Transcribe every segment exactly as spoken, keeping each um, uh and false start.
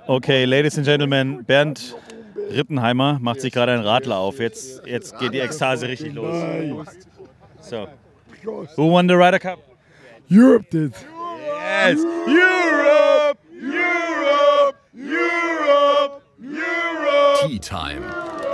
Okay, Ladies and Gentlemen, Bernd Rittenheimer macht sich gerade einen Radler auf. Jetzt, jetzt geht die Ekstase richtig los. So. Who won the Ryder Cup? Europe did. Yes! Europe! Europe! Europe! Europe! Tea Time.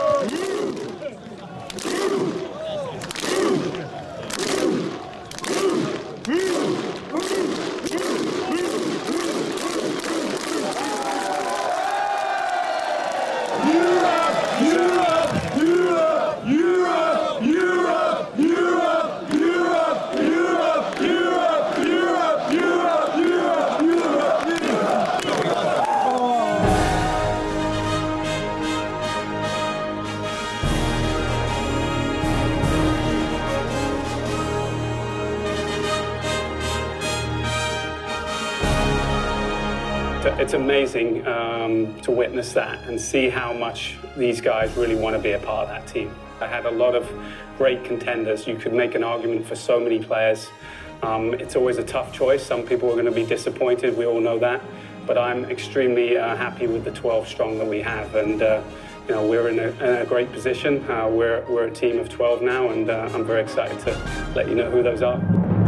It's amazing um, to witness that and see how much these guys really want to be a part of that team. I had a lot of great contenders. You could make an argument for so many players. Um, it's always a tough choice. Some people are going to be disappointed. We all know that. But I'm extremely uh, happy with the twelve strong that we have. And, uh, you know, we're in a, in a great position. Uh, we're, we're a team of twelve now, and uh, I'm very excited to let you know who those are.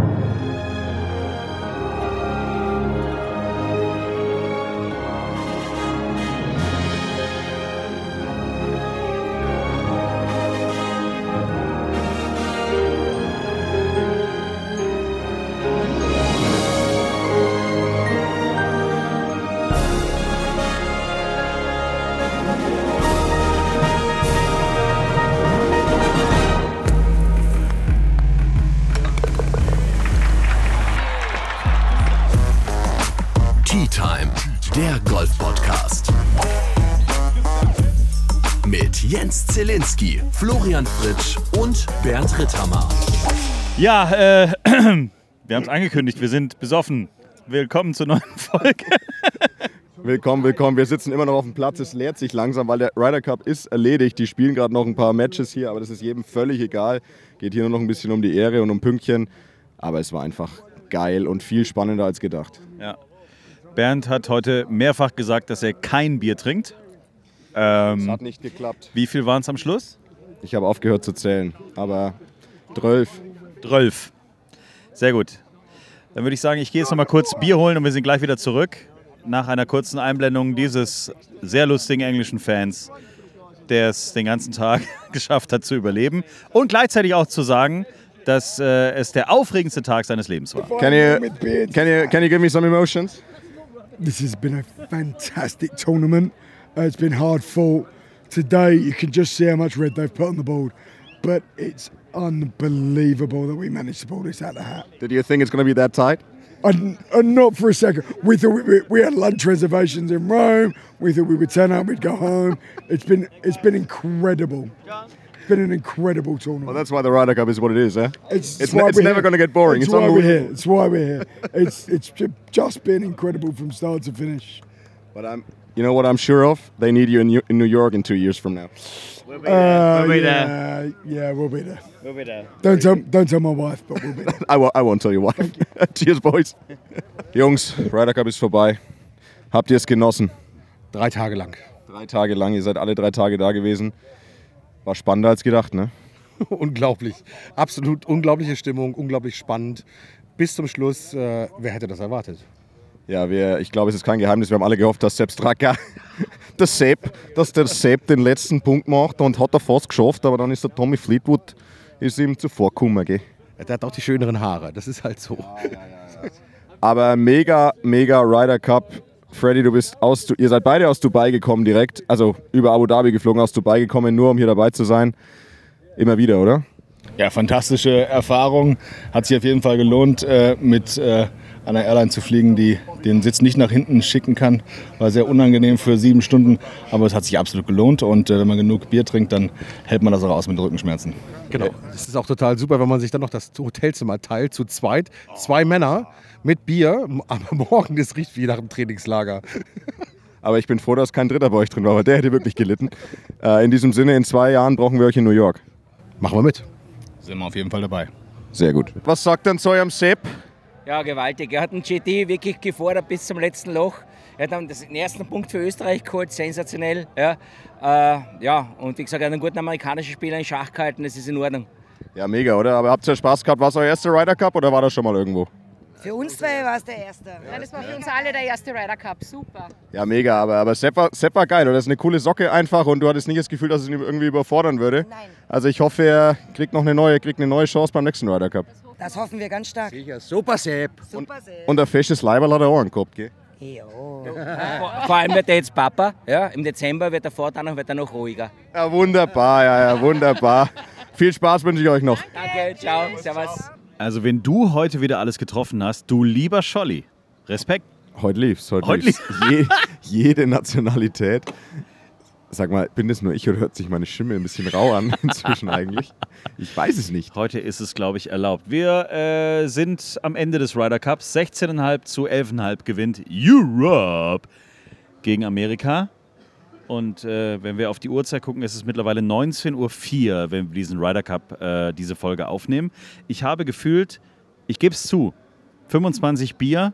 Tea Time, der Golf-Podcast. Mit Jens Zielinski, Florian Fritsch und Bernd Ritthammer. Ja, äh, wir haben es angekündigt, wir sind besoffen. Willkommen zur neuen Folge. Willkommen, willkommen. Wir sitzen immer noch auf dem Platz. Es leert sich langsam, weil der Ryder Cup ist erledigt. Die spielen gerade noch ein paar Matches hier, aber das ist jedem völlig egal. Geht hier nur noch ein bisschen um die Ehre und um Pünktchen. Aber es war einfach geil und viel spannender als gedacht. Ja. Bernd hat heute mehrfach gesagt, dass er kein Bier trinkt. Ähm, das hat nicht geklappt. Wie viel waren es am Schluss? Ich habe aufgehört zu zählen, aber zwölf. Zwölf. Sehr gut. Dann würde ich sagen, ich gehe jetzt noch mal kurz Bier holen und wir sind gleich wieder zurück. Nach einer kurzen Einblendung dieses sehr lustigen englischen Fans, der es den ganzen Tag geschafft hat zu überleben. Und gleichzeitig auch zu sagen, dass äh, es der aufregendste Tag seines Lebens war. Can you, can you, can you give me some emotions? This has been a fantastic tournament. Uh, it's been hard fought. Today, you can just see how much red they've put on the board. But it's unbelievable that we managed to pull this out of the hat. Did you think it's going to be that tight? And, and not for a second. We thought we, we had lunch reservations in Rome. We thought we would turn up, we'd go home. It's been it's been incredible. It's been an incredible tournament. Well, that's why the Ryder Cup is what it is, eh? It's, it's, it's, it's never going to get boring. It's, it's why we're here. unbelievable. It's why we're here. It's it's just been incredible from start to finish. But I'm, you know what I'm sure of? They need you in, in New York in two years from now. We'll be there. Uh, we'll be yeah, there. Yeah, we'll be there. We'll be there. Don't tell, don't tell my wife, but we'll be there. I, won't, I won't tell you why. Cheers, boys. Jungs, Ryder Cup ist vorbei. Habt ihr es genossen? Drei Tage lang. Drei Tage lang. Ihr seid alle drei Tage da gewesen. War spannender als gedacht, ne? Unglaublich. Absolut unglaubliche Stimmung, unglaublich spannend. Bis zum Schluss, äh, wer hätte das erwartet? Ja, wir, ich glaube, es ist kein Geheimnis. Wir haben alle gehofft, dass Sepp Straka, der Sepp, dass der Sepp den letzten Punkt macht und hat er fast geschafft, aber dann ist der Tommy Fleetwood ist ihm zuvorgekommen, gell? Der hat auch die schöneren Haare, das ist halt so. Ja, ja, ja, ja. Aber mega, mega Ryder Cup. Freddy, du bist aus, ihr seid beide aus Dubai gekommen direkt, also über Abu Dhabi geflogen, aus Dubai gekommen, nur um hier dabei zu sein. Immer wieder, oder? Ja, fantastische Erfahrung. Hat sich auf jeden Fall gelohnt, äh, mit äh, einer Airline zu fliegen, die den Sitz nicht nach hinten schicken kann. War sehr unangenehm für sieben Stunden, aber es hat sich absolut gelohnt. Und äh, wenn man genug Bier trinkt, dann hält man das auch aus mit Rückenschmerzen. Genau. Das ist auch total super, wenn man sich dann noch das Hotelzimmer teilt, zu zweit. Zwei Männer mit Bier, aber morgen, das riecht wie nach einem Trainingslager. Aber ich bin froh, dass kein Dritter bei euch drin war, weil der hätte wirklich gelitten. Äh, in diesem Sinne, in zwei Jahren brauchen wir euch in New York. Machen wir mit. Sind wir auf jeden Fall dabei. Sehr gut. Was sagt denn zu eurem Sepp? Ja, gewaltig. Er hat den J D wirklich gefordert bis zum letzten Loch. Er hat dann den ersten Punkt für Österreich geholt, sensationell. Ja, äh, ja. Und wie gesagt, er hat einen guten amerikanischen Spieler in Schach gehalten, das ist in Ordnung. Ja, mega, oder? Aber habt ihr Spaß gehabt? War es euer erster Ryder Cup oder war das schon mal irgendwo? Für uns zwei war es der erste. Ja, das war für uns alle der erste Ryder Cup, super. Ja, mega, aber, aber Sepp, war, Sepp war geil, oder? Das ist eine coole Socke einfach und du hattest nicht das Gefühl, dass es ihn irgendwie überfordern würde. Nein. Also ich hoffe, er kriegt noch eine neue, kriegt eine neue Chance beim nächsten Ryder Cup. Das hoffen wir ganz stark. Sicher, super Sepp. Super Sepp. Und ein fesches Leiberl hat er auch gehabt, gell? Jo. Vor, vor allem wird er jetzt Papa. Ja, im Dezember wird er fortan noch, wird er noch ruhiger. Ja, wunderbar, ja, ja, wunderbar. Viel Spaß wünsche ich euch noch. Danke, ciao, servus. Also wenn du heute wieder alles getroffen hast, du lieber Scholli, Respekt. Heute lief's, heute, Heute lief's. Je, jede Nationalität. Sag mal, bin das nur ich oder hört sich meine Stimme ein bisschen rau an inzwischen eigentlich? Ich weiß es nicht. Heute ist es, glaube ich, erlaubt. Wir äh, sind am Ende des Ryder Cups. sechzehn Komma fünf zu elf Komma fünf gewinnt Europe gegen Amerika. Und äh, wenn wir auf die Uhrzeit gucken, ist es mittlerweile neunzehn Uhr vier, wenn wir diesen Ryder Cup, äh, diese Folge aufnehmen. Ich habe gefühlt, ich gebe es zu, fünfundzwanzig Bier,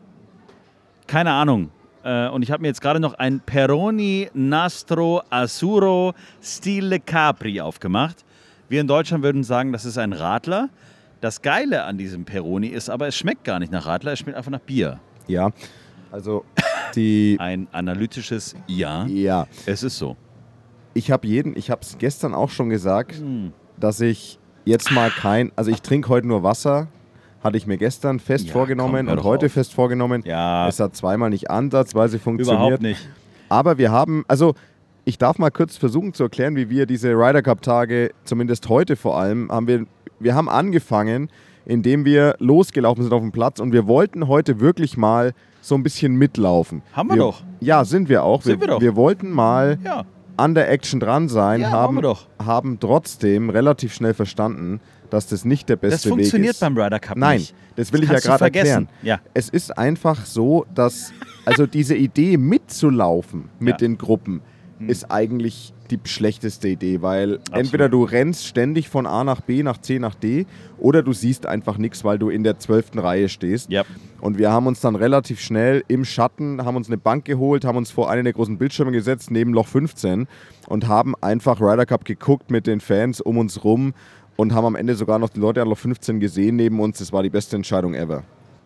keine Ahnung. Äh, und ich habe mir jetzt gerade noch ein Peroni Nastro Azzurro Stile Capri aufgemacht. Wir in Deutschland würden sagen, das ist ein Radler. Das Geile an diesem Peroni ist aber, es schmeckt gar nicht nach Radler, es schmeckt einfach nach Bier. Ja, also die... Ein analytisches Ja. Ja. Es ist so. Ich habe jeden, ich habe es gestern auch schon gesagt, hm. dass ich jetzt mal kein, also ich trinke heute nur Wasser, hatte ich mir gestern fest ja, vorgenommen komm, und heute auf. fest vorgenommen. Ja. Es hat zweimal nicht ansatzweise funktioniert. Überhaupt nicht. Aber wir haben, also ich darf mal kurz versuchen zu erklären, wie wir diese Ryder Cup Tage, zumindest heute vor allem, haben wir, wir haben angefangen, indem wir losgelaufen sind auf dem Platz und wir wollten heute wirklich mal so ein bisschen mitlaufen. Haben wir, wir doch. Ja, sind wir auch. Sind wir, wir doch. Wir wollten mal ja. an der Action dran sein, ja, haben, wir doch. haben trotzdem relativ schnell verstanden, dass das nicht der beste Weg ist. Das funktioniert beim Ryder Cup Nein, nicht. das will Das ich ja kannst du gerade erklären. Ja. Es ist einfach so, dass also diese Idee mitzulaufen mit Ja. den Gruppen hm. ist eigentlich die schlechteste Idee, weil Absolut. entweder du rennst ständig von A nach B, nach C nach D oder du siehst einfach nichts, weil du in der zwölften Reihe stehst. Yep. Und wir haben uns dann relativ schnell im Schatten, haben uns eine Bank geholt, haben uns vor einen der großen Bildschirme gesetzt, neben Loch fünfzehn und haben einfach Ryder Cup geguckt mit den Fans um uns rum und haben am Ende sogar noch die Leute an Loch fünfzehn gesehen neben uns. Das war die beste Entscheidung ever.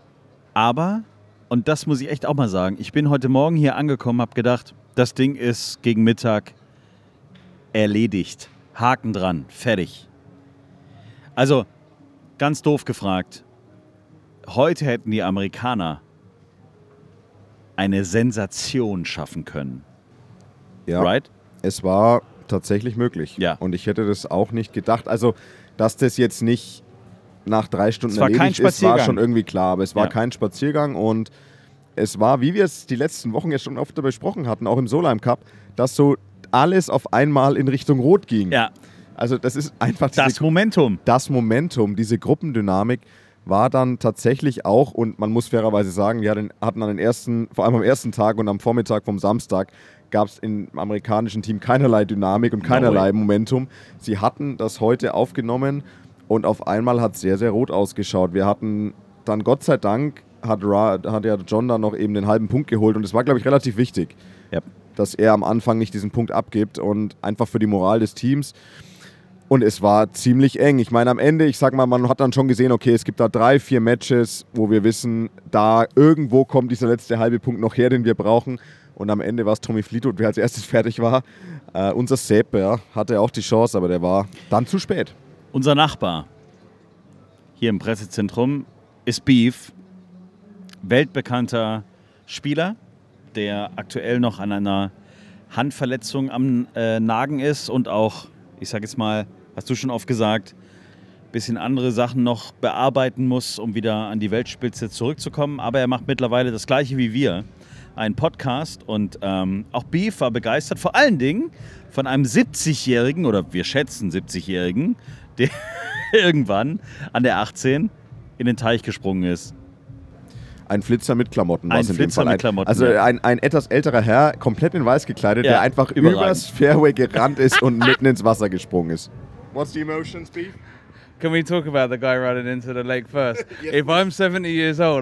Aber, und das muss ich echt auch mal sagen, ich bin heute Morgen hier angekommen, habe gedacht, das Ding ist gegen Mittag erledigt. Haken dran, fertig. Also, ganz doof gefragt, heute hätten die Amerikaner eine Sensation schaffen können. Ja, right? Es war tatsächlich möglich. Ja. Und ich hätte das auch nicht gedacht. Also, dass das jetzt nicht nach drei Stunden Es war kein erledigt ist, war Spaziergang. schon irgendwie klar. Aber es war Ja. kein Spaziergang und es war, wie wir es die letzten Wochen ja schon oft besprochen hatten, auch im Solheim Cup, dass so alles auf einmal in Richtung Rot ging. Ja. Also das ist einfach diese, Das Momentum. das Momentum, diese Gruppendynamik war dann tatsächlich auch, und man muss fairerweise sagen, wir hatten, hatten an den ersten, vor allem am ersten Tag und am Vormittag vom Samstag, gab es im amerikanischen Team keinerlei Dynamik und keinerlei No Momentum. Sie hatten das heute aufgenommen und auf einmal hat es sehr, sehr rot ausgeschaut. Wir hatten dann, Gott sei Dank, hat, Ra, hat ja John dann noch eben den halben Punkt geholt und das war, glaube ich, relativ wichtig, Ja. dass er am Anfang nicht diesen Punkt abgibt und einfach für die Moral des Teams. Und es war ziemlich eng. Ich meine, am Ende, ich sag mal, man hat dann schon gesehen, okay, es gibt da drei, vier Matches, wo wir wissen, da irgendwo kommt dieser letzte halbe Punkt noch her, den wir brauchen. Und am Ende war es Tommy Fleetwood, wer als erstes fertig war. Äh, unser Sepp, ja, hatte auch die Chance, aber der war dann zu spät. Unser Nachbar hier im Pressezentrum ist Beef, weltbekannter Spieler, der aktuell noch an einer Handverletzung am äh, Nagen ist und auch, ich sage jetzt mal, hast du schon oft gesagt, ein bisschen andere Sachen noch bearbeiten muss, um wieder an die Weltspitze zurückzukommen. Aber er macht mittlerweile das Gleiche wie wir, einen Podcast. Und ähm, auch Beef war begeistert, vor allen Dingen von einem siebzigjährigen, oder wir schätzen siebzigjährigen, der irgendwann an der achtzehn in den Teich gesprungen ist. Ein Flitzer mit Klamotten war Ein es in dem Flitzer Fall. mit Ein- Klamotten, Also ja. ein, ein etwas älterer Herr, komplett in weiß gekleidet, Ja, der einfach überragend. übers Fairway gerannt ist und mitten ins Wasser gesprungen ist. What's the emotions, Beef? Can we talk about the guy running into the lake first? If I'm seventy years old,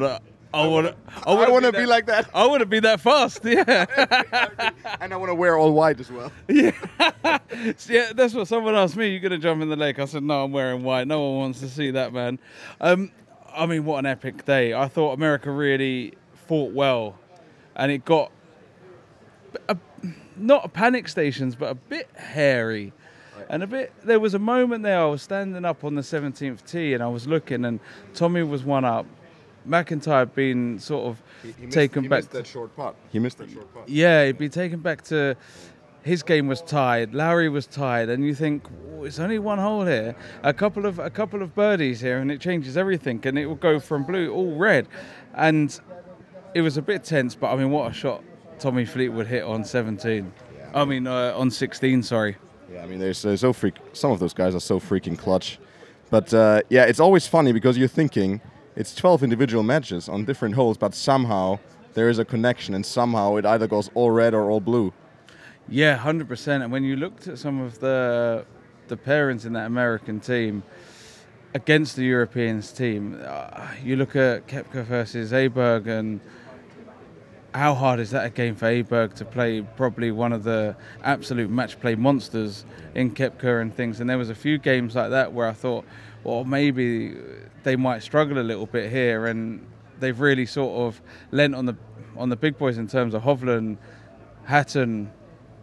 I want I want to be, be like that. I want to be that fast, yeah. And I want to wear all white as well. Yeah. Yeah, that's what someone asked me. You going to jump in the lake? I said, no, I'm wearing white. No one wants to see that, man. Um, I mean, what an epic day. I thought America really fought well. And it got, a, not a panic stations, but a bit hairy. Right. And a bit, there was a moment there, I was standing up on the seventeenth tee and I was looking and Tommy was one up. McIntyre had been sort of he, he taken missed, he back. He missed that short putt. He missed that short putt. Yeah, he'd been taken back to, his game was tied, Lowry was tied, and you think, oh, it's only one hole here, a couple of a couple of birdies here, and it changes everything, and it will go from blue all red. And it was a bit tense, but I mean, what a shot Tommy Fleetwood hit on seventeen. Yeah. I mean, uh, on sixteen, sorry. Yeah, I mean, they're so, so freak. Some of those guys are so freaking clutch. But uh, yeah, it's always funny because you're thinking it's twelve individual matches on different holes, but somehow there is a connection, and somehow it either goes all red or all blue. Yeah, one hundred percent. And when you looked at some of the the pairings in that American team against the Europeans team, uh, you look at Koepka versus Aberg, and how hard is that a game for Aberg to play probably one of the absolute match play monsters in Koepka and things. And there was a few games like that where I thought, well, maybe they might struggle a little bit here, and they've really sort of lent on the on the big boys in terms of Hovland, Hatton,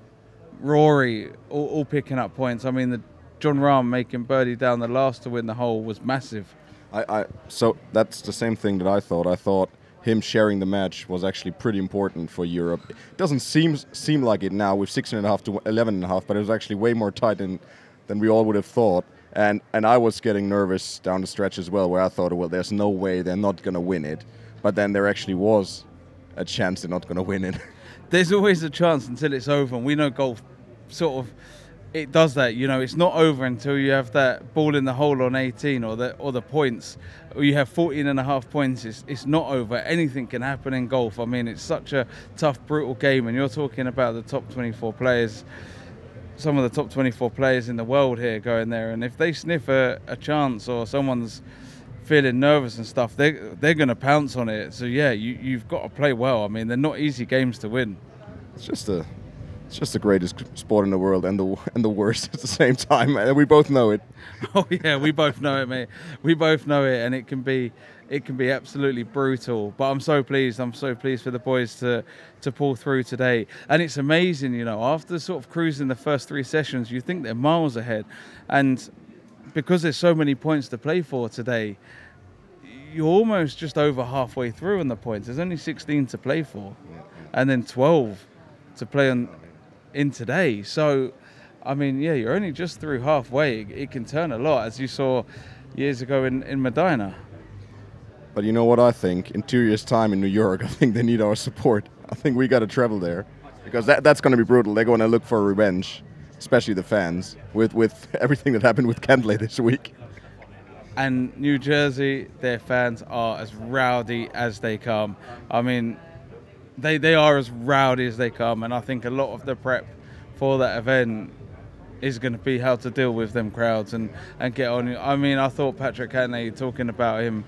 Rory, all, all picking up points. I mean, the Jon Rahm making birdie down the last to win the hole was massive. I, I so that's the same thing that I thought. I thought him sharing the match was actually pretty important for Europe. It doesn't seem seem like it now with sixteen and a half to eleven and a half, but it was actually way more tight than than we all would have thought. And and I was getting nervous down the stretch as well, where I thought, well, there's no way they're not going to win it. But then there actually was a chance they're not going to win it. There's always a chance until it's over, and we know golf sort of, it does that. You know, it's not over until you have that ball in the hole on eighteen or the or the points, or you have fourteen and a half points. It's, it's not over. Anything can happen in golf. I mean, it's such a tough, brutal game, and you're talking about the top twenty-four players, some of the top twenty-four players in the world here going there, and if they sniff a, a chance or someone's feeling nervous and stuff, they they're going to pounce on it. So yeah, you you've got to play well. I mean, they're not easy games to win. It's just a it's just the greatest sport in the world, and the and the worst at the same time, and we both know it. Oh yeah, we both know it, mate. We both know it, and it can be it can be absolutely brutal. But I'm so pleased. I'm so pleased for the boys to to pull through today. And it's amazing, you know, after sort of cruising the first three sessions, you think they're miles ahead, and because there's so many points to play for today, you're almost just over halfway through on the points. There's only sixteen to play for, and then twelve to play on in today. So, I mean, yeah, you're only just through halfway. It, it can turn a lot, as you saw years ago in, in Medina. But you know what I think? In two years' time in New York, I think they need our support. I think we got to travel there, because that that's going to be brutal. They're going to look for revenge, especially the fans, with, with everything that happened with Cantlay this week. And New Jersey, their fans are as rowdy as they come. I mean, they they are as rowdy as they come, and I think a lot of the prep for that event is going to be how to deal with them crowds and, and get on. I mean, I thought Patrick Cantlay, talking about him,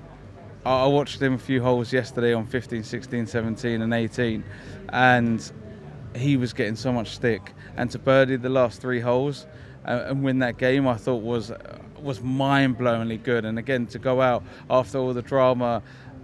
I watched him a few holes yesterday on fifteen, sixteen, seventeen and eighteen, and he was getting so much stick. And to birdie the last three holes uh, and win that game, I thought was was mind-blowingly good. And again, to go out after all the drama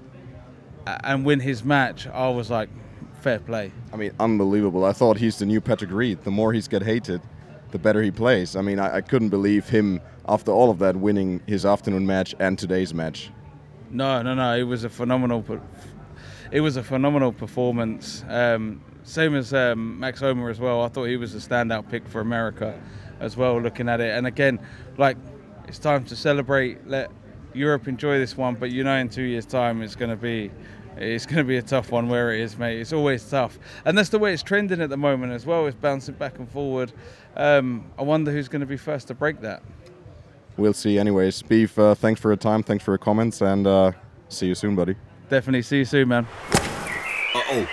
and win his match, I was like, fair play. I mean, unbelievable. I thought he's the new Patrick Reed. The more he's get hated, the better he plays. I mean, I, I couldn't believe him, after all of that, winning his afternoon match and today's match. No, no, no. It was a phenomenal. It was a phenomenal performance. Um, same as um, Max Homa as well. I thought he was a standout pick for America as well. Looking at it, and again, like, it's time to celebrate. Let Europe enjoy this one. But you know, in two years' time, it's going to be, it's going to be a tough one. Where it is, mate. It's always tough, and that's the way it's trending at the moment as well. It's bouncing back and forward. Um, I wonder who's going to be first to break that. We'll see. Anyways, Beef, uh, thanks for your time, thanks for your comments, and uh, see you soon, buddy. Definitely see you soon, man. Uh-oh.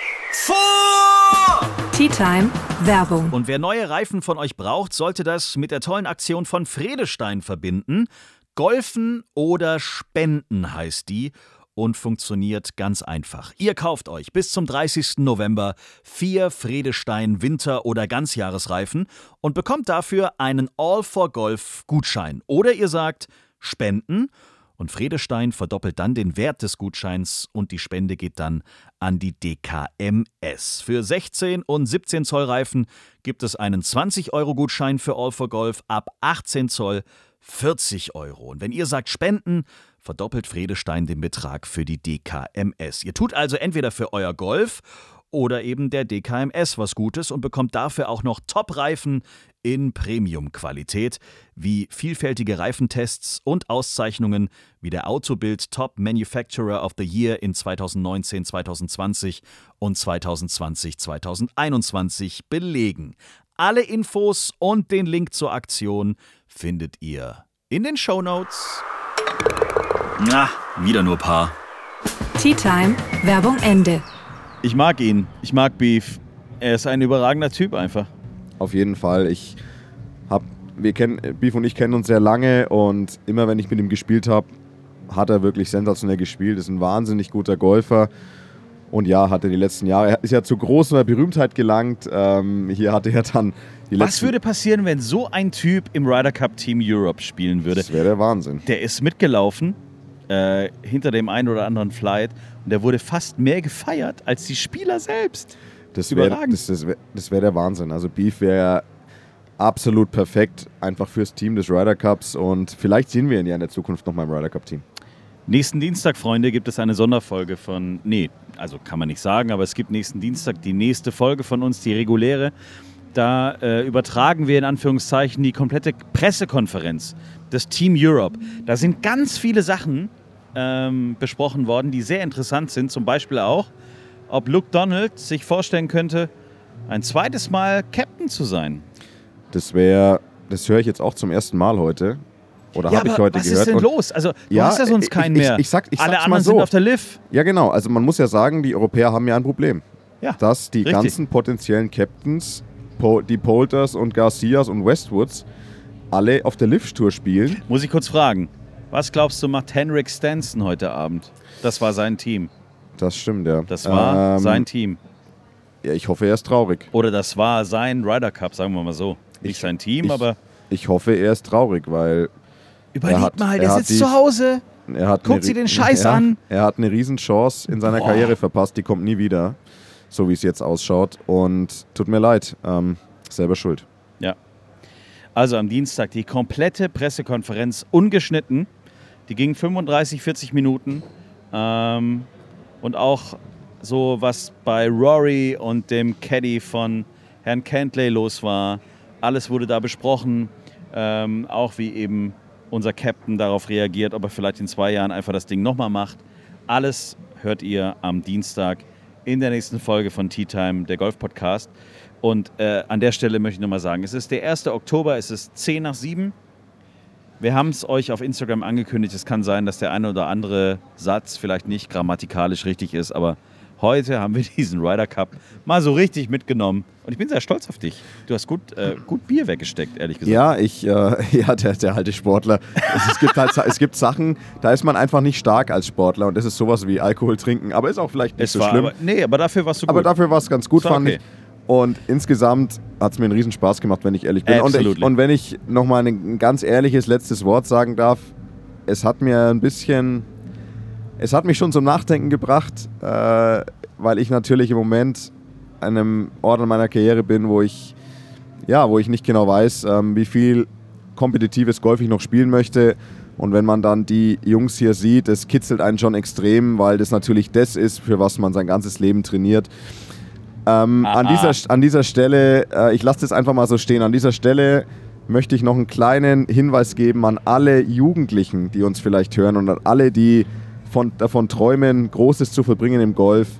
Vor! Tea Time Werbung. Und wer neue Reifen von euch braucht, sollte das mit der tollen Aktion von Vredestein verbinden. Golfen oder Spenden heißt die. und funktioniert ganz einfach. Ihr kauft euch bis zum dreißigsten November vier Vredestein Winter- oder Ganzjahresreifen und bekommt dafür einen All for Golf Gutschein. Oder ihr sagt Spenden und Vredestein verdoppelt dann den Wert des Gutscheins und die Spende geht dann an die D K M S. Für sechzehn und siebzehn Zoll Reifen gibt es einen zwanzig Euro Gutschein für All for Golf, ab achtzehn Zoll vierzig Euro. Und wenn ihr sagt Spenden, verdoppelt Vredestein den Betrag für die D K M S. Ihr tut also entweder für euer Golf oder eben der D K M S was Gutes und bekommt dafür auch noch Top-Reifen in Premium-Qualität, wie vielfältige Reifentests und Auszeichnungen wie der Autobild Top Manufacturer of the Year in zweitausendneunzehn, zweitausendzwanzig und zweitausendzwanzig, zweitausendeinundzwanzig belegen. Alle Infos und den Link zur Aktion findet ihr in den Shownotes. Na, wieder nur Paar. Tea Time, Werbung Ende. Ich mag ihn. Ich mag Beef. Er ist ein überragender Typ einfach. Auf jeden Fall. Ich hab, wir kennen, Beef und ich kennen uns sehr lange und immer wenn ich mit ihm gespielt habe, hat er wirklich sensationell gespielt. Ist ein wahnsinnig guter Golfer. Und ja, hat er die letzten Jahre, er ist ja zu großer Berühmtheit gelangt. Ähm, hier hatte er dann die letzten... Was würde passieren, wenn so ein Typ im Ryder Cup Team Europe spielen würde? Das wäre der Wahnsinn. Der ist mitgelaufen, äh, hinter dem einen oder anderen Flight, und der wurde fast mehr gefeiert als die Spieler selbst. Das wäre das, das wär, das wär der Wahnsinn. Also Beef wäre absolut perfekt, einfach fürs Team des Ryder Cups, und vielleicht sehen wir ihn ja in der Zukunft noch mal im Ryder Cup Team. Nächsten Dienstag, Freunde, gibt es eine Sonderfolge von, nee, also kann man nicht sagen, aber es gibt nächsten Dienstag die nächste Folge von uns, die reguläre. Da äh, übertragen wir in Anführungszeichen die komplette Pressekonferenz des Team Europe. Da sind ganz viele Sachen ähm, besprochen worden, die sehr interessant sind. Zum Beispiel auch, ob Luke Donald sich vorstellen könnte, ein zweites Mal Captain zu sein. Das wäre, das höre ich jetzt auch zum ersten Mal heute. Oder ja, habe ich heute was gehört. Was ist denn los? Also, du ja, hast ja sonst keinen ich, ich, mehr. Ich sag, ich Alle sag's anderen mal so. sind auf der Liv. Ja, genau. Also man muss ja sagen, die Europäer haben ja ein Problem. Ja, dass die richtig. ganzen potenziellen Captains, die Poulters und Garcias und Westwoods, alle auf der Liv-Tour spielen. Muss ich kurz fragen, was glaubst du, macht Henrik Stenson heute Abend? Das war sein Team. Das stimmt, ja. Das war ähm, sein Team. Ja, ich hoffe, er ist traurig. Oder das war sein Ryder Cup, sagen wir mal so. Nicht ich, sein Team, ich, aber... Ich hoffe, er ist traurig, weil... Überleg hat, mal, der sitzt die, zu Hause, er hat guckt eine, sie den Scheiß ja, an. Er hat eine Riesenchance in seiner Boah. Karriere verpasst, die kommt nie wieder, so wie es jetzt ausschaut. Und tut mir leid, ähm, selber schuld. Ja. Also am Dienstag die komplette Pressekonferenz ungeschnitten. Die ging fünfunddreißig, vierzig Minuten. Ähm, und auch so, was bei Rory und dem Caddy von Herrn Cantlay los war. Alles wurde da besprochen. Ähm, auch wie eben unser Captain darauf reagiert, ob er vielleicht in zwei Jahren einfach das Ding nochmal macht. Alles hört ihr am Dienstag in der nächsten Folge von Tea Time, der Golf-Podcast. Und äh, an der Stelle möchte ich nochmal sagen, es ist der erste Oktober, es ist zehn nach sieben. Wir haben es euch auf Instagram angekündigt. Es kann sein, dass der eine oder andere Satz vielleicht nicht grammatikalisch richtig ist, aber heute haben wir diesen Ryder Cup mal so richtig mitgenommen. Und ich bin sehr stolz auf dich. Du hast gut, äh, gut Bier weggesteckt, ehrlich gesagt. Ja, ich, äh, ja der, der alte Sportler. Es, es, gibt halt, es gibt Sachen, da ist man einfach nicht stark als Sportler. Und das ist sowas wie Alkohol trinken. Aber ist auch vielleicht nicht es so war schlimm. Aber, nee, aber dafür warst du gut. Aber dafür war es ganz gut, war fand okay. ich. Und insgesamt hat es mir einen riesen Spaß gemacht, wenn ich ehrlich bin. Und, ich, und wenn ich nochmal ein ganz ehrliches letztes Wort sagen darf, es hat mir ein bisschen, es hat mich schon zum Nachdenken gebracht, äh, weil ich natürlich im Moment an einem Ort in meiner Karriere bin, wo ich, ja, wo ich nicht genau weiß, ähm, wie viel kompetitives Golf ich noch spielen möchte. Und wenn man dann die Jungs hier sieht, das kitzelt einen schon extrem, weil das natürlich das ist, für was man sein ganzes Leben trainiert. Ähm, an, dieser, an dieser Stelle, äh, ich lasse das einfach mal so stehen, an dieser Stelle möchte ich noch einen kleinen Hinweis geben an alle Jugendlichen, die uns vielleicht hören, und an alle, die von, davon träumen, Großes zu vollbringen im Golf.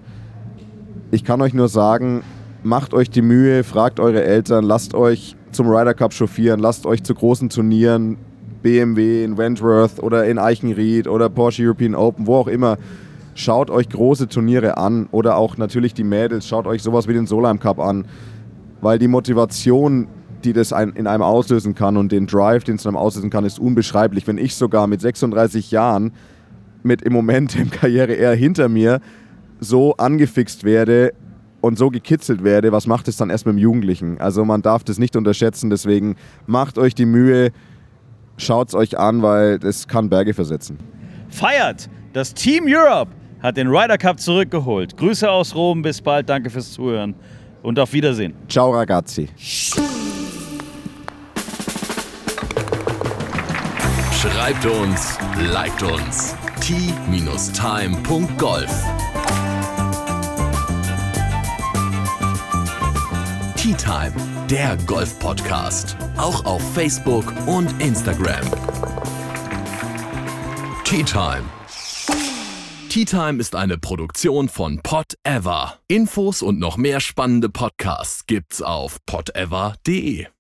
Ich kann euch nur sagen, macht euch die Mühe, fragt eure Eltern, lasst euch zum Ryder Cup chauffieren, lasst euch zu großen Turnieren, B M W in Wentworth oder in Eichenried oder Porsche European Open, wo auch immer. Schaut euch große Turniere an oder auch natürlich die Mädels, schaut euch sowas wie den Solheim Cup an, weil die Motivation, die das in einem auslösen kann und den Drive, den es in einem auslösen kann, ist unbeschreiblich. Wenn ich sogar mit sechsunddreißig Jahren mit im Moment im Karriere eher hinter mir so angefixt werde und so gekitzelt werde, was macht es dann erst mit dem Jugendlichen? Also man darf das nicht unterschätzen, deswegen macht euch die Mühe, schaut es euch an, weil das kann Berge versetzen. Feiert! Das Team Europe hat den Ryder Cup zurückgeholt. Grüße aus Rom, bis bald, danke fürs Zuhören und auf Wiedersehen. Ciao ragazzi. Schreibt uns, liked uns. T Time Punkt Golf Tea Time, der Golf-Podcast. Auch auf Facebook und Instagram. Tea Time. Tea Time ist eine Produktion von Pod Ever. Infos und noch mehr spannende Podcasts gibt's auf pod ever punkt de.